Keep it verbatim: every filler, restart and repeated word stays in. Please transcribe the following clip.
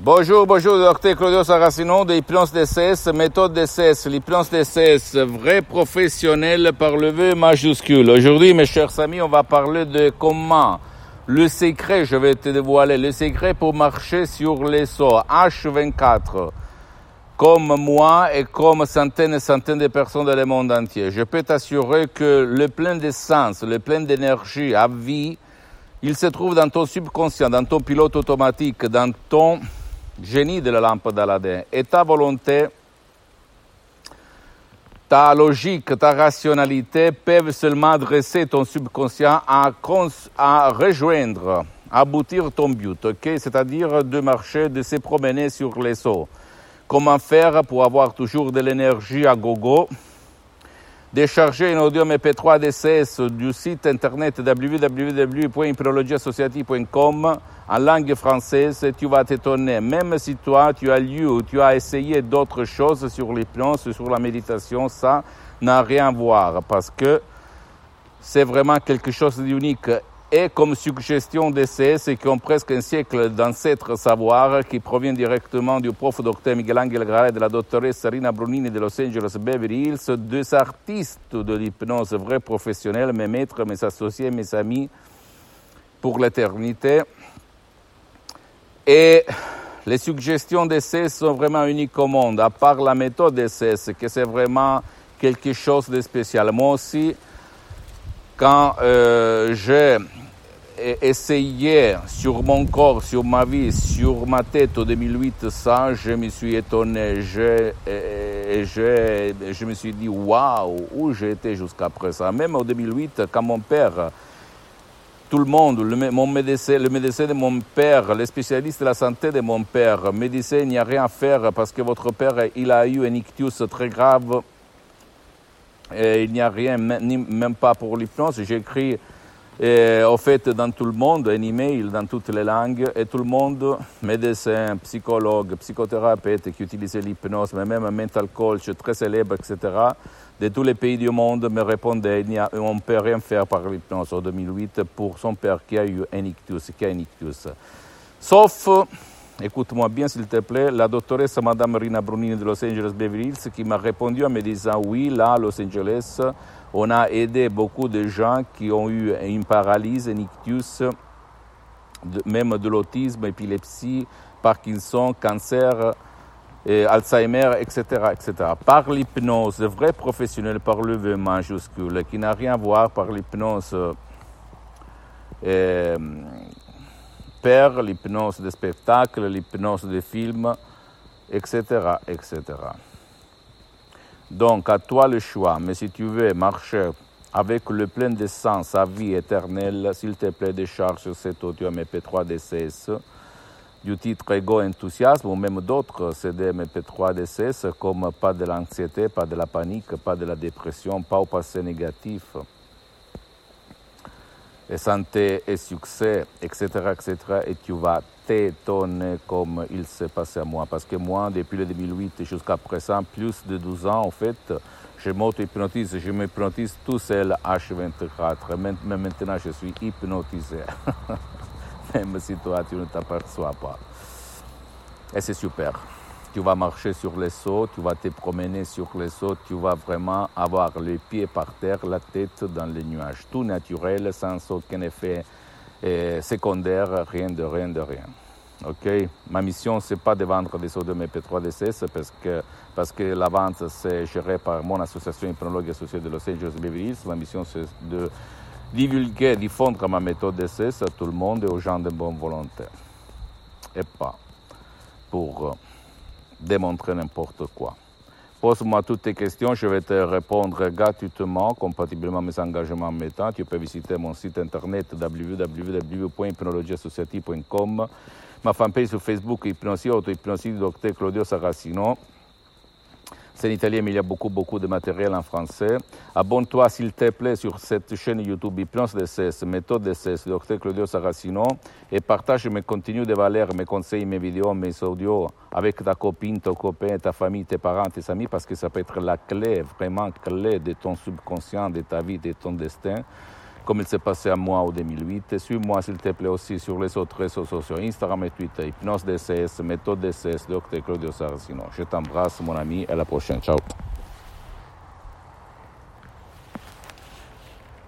Bonjour, bonjour, docteur Claudio Saracino de l'hypnose D C S, méthode D C S, l'hypnose D C S, vrai professionnel par le V majuscule. Aujourd'hui, mes chers amis, on va parler de comment le secret, je vais te dévoiler, le secret pour marcher sur les eaux, H vingt-quatre, comme moi et comme centaines et centaines de personnes dans le monde entier. Je peux t'assurer que le plein d'essence, le plein d'énergie à vie, il se trouve dans ton subconscient, dans ton pilote automatique, dans ton génie de la lampe d'Aladin. Et ta volonté, ta logique, ta rationalité peuvent seulement adresser ton subconscient à, cons- à rejoindre, à aboutir ton but, okay? C'est-à-dire de marcher, de se promener sur les eaux. Comment faire pour avoir toujours de l'énergie à gogo? Décharger un audio M P trois D C S du site internet w w w point hypnologie associative point com en langue française, tu vas t'étonner. Même si toi, tu as lu ou tu as essayé d'autres choses sur l'hypnose, sur la méditation, ça n'a rien à voir parce que c'est vraiment quelque chose d'unique. Et comme suggestion D C S qui ont presque un siècle d'ancêtres savoir, qui provient directement du prof docteur Miguel Angel Grara et de la doctoresse Rina Brunini de Los Angeles Beverly Hills, deux artistes de l'hypnose, vrais professionnels, mes maîtres, mes associés, mes amis pour l'éternité. Et les suggestions D C S sont vraiment uniques au monde, à part la méthode D C S, que c'est vraiment quelque chose de spécial. Moi aussi, quand euh, j'ai essayé sur mon corps, sur ma vie, sur ma tête en deux mille huit, ça, je me suis étonné. Je, et je, je me suis dit, waouh, où j'ai été jusqu'à présent. Même en deux mille huit, quand mon père, tout le monde, le, mon médecin, le médecin de mon père, les spécialistes de la santé de mon père me disaient, il n'y a rien à faire parce que votre père, il a eu un ictus très grave. Et il n'y a rien, même pas pour l'hypnose. J'ai écrit, euh, au fait, dans tout le monde, un email dans toutes les langues, et tout le monde, médecins, psychologues, psychothérapeutes qui utilisaient l'hypnose, mais même un mental coach très célèbre, et cetera, de tous les pays du monde me répondaient, il n'y a, on ne peut rien faire par l'hypnose en deux mille huit pour son père qui a eu un ictus, qui a un ictus. Sauf, écoute-moi bien s'il te plaît, la doctoresse Madame Rina Brunini de Los Angeles Beverly Hills qui m'a répondu en me disant oui, là à Los Angeles, on a aidé beaucoup de gens qui ont eu une paralysie, un ictus, de, même de l'autisme, épilepsie, Parkinson, cancer, et Alzheimer, et cetera, et cetera. Par l'hypnose, vrai professionnel par le V majuscule, qui n'a rien à voir par l'hypnose euh, père, l'hypnose de spectacle, l'hypnose de film, et cetera, et cetera. Donc, à toi le choix. Mais si tu veux marcher avec le plein d'essence à vie éternelle, s'il te plaît, décharge cet audio M P trois D C S du titre Ego Enthousiasme ou même d'autres C D M P trois D C S comme pas de l'anxiété, pas de la panique, pas de la dépression, pas au passé négatif, et santé et succès, et cetera, et cetera. Et tu vas t'étonner comme il s'est passé à moi. Parce que moi, depuis le deux mille huit jusqu'à présent, plus de douze ans, en fait, je m'auto-hypnotise, je m'hypnotise tout seul H vingt-quatre. Mais maintenant, je suis hypnotisé. Même si toi, tu ne t'aperçois pas. Et c'est super. Tu vas marcher sur les eaux, tu vas te promener sur les eaux, tu vas vraiment avoir les pieds par terre, la tête dans les nuages. Tout naturel, sans aucun effet eh, secondaire, rien de rien de rien. Ok? Ma mission, c'est pas de vendre des audios M P trois D C S parce que, parce que la vente, c'est géré par mon association hypnologue associée de Los Angeles Beverly Hills. Ma mission, c'est de divulguer, diffondre ma méthode D C S à tout le monde et aux gens de bonne volonté. Et pas pour démontrer n'importe quoi. Pose-moi toutes tes questions, je vais te répondre gratuitement, compatiblement à mes engagements en même temps. Tu peux visiter mon site internet w w w point hypnologie associative point com, ma fanpage sur Facebook Hypnosie, auto-hypnosie du docteur Claudio Saracino. C'est en italien, mais il y a beaucoup, beaucoup de matériel en français. Abonne-toi, s'il te plaît, sur cette chaîne YouTube Hypnose D C S, méthode D C S, docteur Claudio Saracino, et partage mes contenus de valeur, mes conseils, mes vidéos, mes audios avec ta copine, ton copain, ta famille, tes parents, tes amis, parce que ça peut être la clé, vraiment clé de ton subconscient, de ta vie, de ton destin. comme il s'est passé à moi en deux mille huit. Suis-moi s'il te plaît aussi sur les autres réseaux sociaux, Instagram et Twitter, Hypnose D C S, Méthode D C S, Docteur Claudio Saracino. Je t'embrasse mon ami, à la prochaine, ciao.